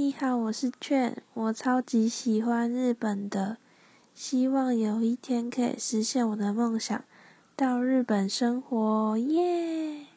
你好，我是券，我超级喜欢日本的，希望有一天可以实现我的梦想，到日本生活，耶！